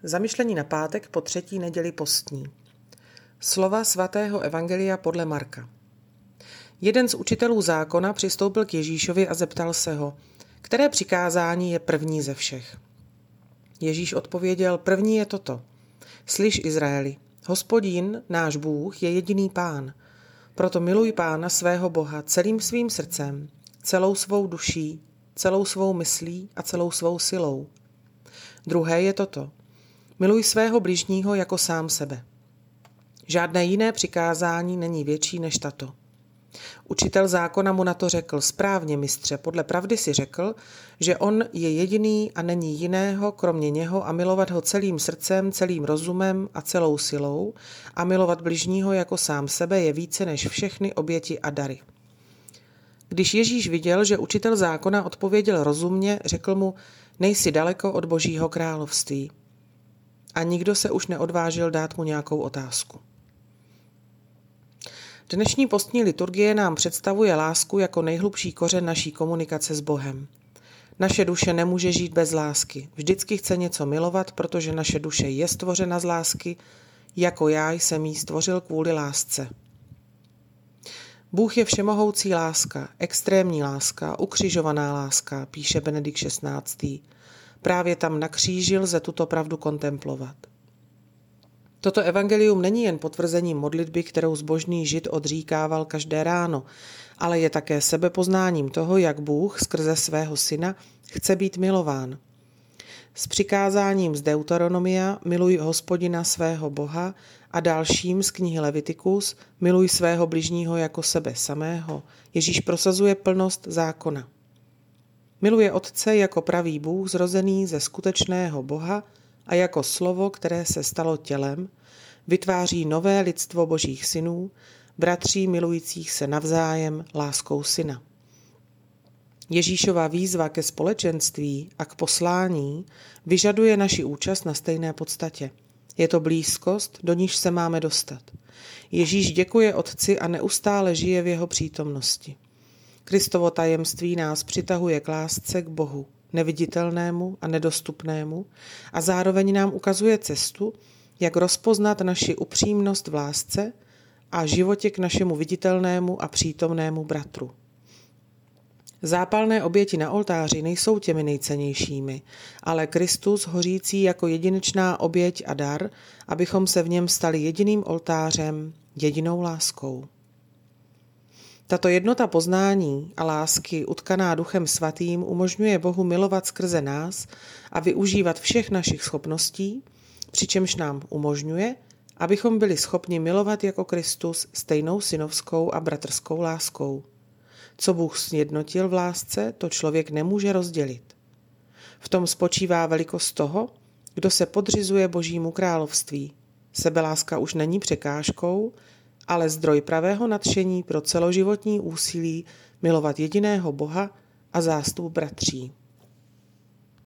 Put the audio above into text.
Zamyšlení na pátek po 3. neděli postní. Slova svatého evangelia podle Marka. Jeden z učitelů zákona přistoupil k Ježíšovi a zeptal se ho, které přikázání je první ze všech. Ježíš odpověděl, první je toto. Slyš, Izraeli, Hospodin, náš Bůh, je jediný Pán. Proto miluj Pána svého Boha celým svým srdcem, celou svou duší, celou svou myslí a celou svou silou. Druhé je toto. Miluj svého bližního jako sám sebe. Žádné jiné přikázání není větší než tato. Učitel zákona mu na to řekl, správně, mistře, podle pravdy si řekl, že on je jediný a není jiného, kromě něho, a milovat ho celým srdcem, celým rozumem a celou silou a milovat bližního jako sám sebe je více než všechny oběti a dary. Když Ježíš viděl, že učitel zákona odpověděl rozumně, řekl mu, nejsi daleko od Božího království. A nikdo se už neodvážil dát mu nějakou otázku. Dnešní postní liturgie nám představuje lásku jako nejhlubší kořen naší komunikace s Bohem. Naše duše nemůže žít bez lásky. Vždycky chce něco milovat, protože naše duše je stvořena z lásky, jako já jsem jí stvořil kvůli lásce. Bůh je všemohoucí láska, extrémní láska, ukřižovaná láska, píše Benedikt XVI. Právě tam na kříži lze tuto pravdu kontemplovat. Toto evangelium není jen potvrzením modlitby, kterou zbožný žid odříkával každé ráno, ale je také sebepoznáním toho, jak Bůh skrze svého syna chce být milován. S přikázáním z Deuteronomia miluj Hospodina svého Boha a dalším z knihy Levitikus miluj svého bližního jako sebe samého. Ježíš prosazuje plnost zákona. Miluje Otce jako pravý Bůh zrozený ze skutečného Boha a jako slovo, které se stalo tělem, vytváří nové lidstvo Božích synů, bratří milujících se navzájem láskou syna. Ježíšova výzva ke společenství a k poslání vyžaduje naši účast na stejné podstatě. Je to blízkost, do níž se máme dostat. Ježíš děkuje Otci a neustále žije v jeho přítomnosti. Kristovo tajemství nás přitahuje k lásce k Bohu, neviditelnému a nedostupnému, a zároveň nám ukazuje cestu, jak rozpoznat naši upřímnost v lásce a životě k našemu viditelnému a přítomnému bratru. Zápalné oběti na oltáři nejsou těmi nejcennějšími, ale Kristus hořící jako jedinečná oběť a dar, abychom se v něm stali jediným oltářem, jedinou láskou. Tato jednota poznání a lásky utkaná Duchem Svatým umožňuje Bohu milovat skrze nás a využívat všech našich schopností, přičemž nám umožňuje, abychom byli schopni milovat jako Kristus stejnou synovskou a bratrskou láskou. Co Bůh sjednotil v lásce, to člověk nemůže rozdělit. V tom spočívá velikost toho, kdo se podřizuje Božímu království. Sebeláska už není překážkou, ale zdroj pravého nadšení pro celoživotní úsilí milovat jediného Boha a zástup bratří.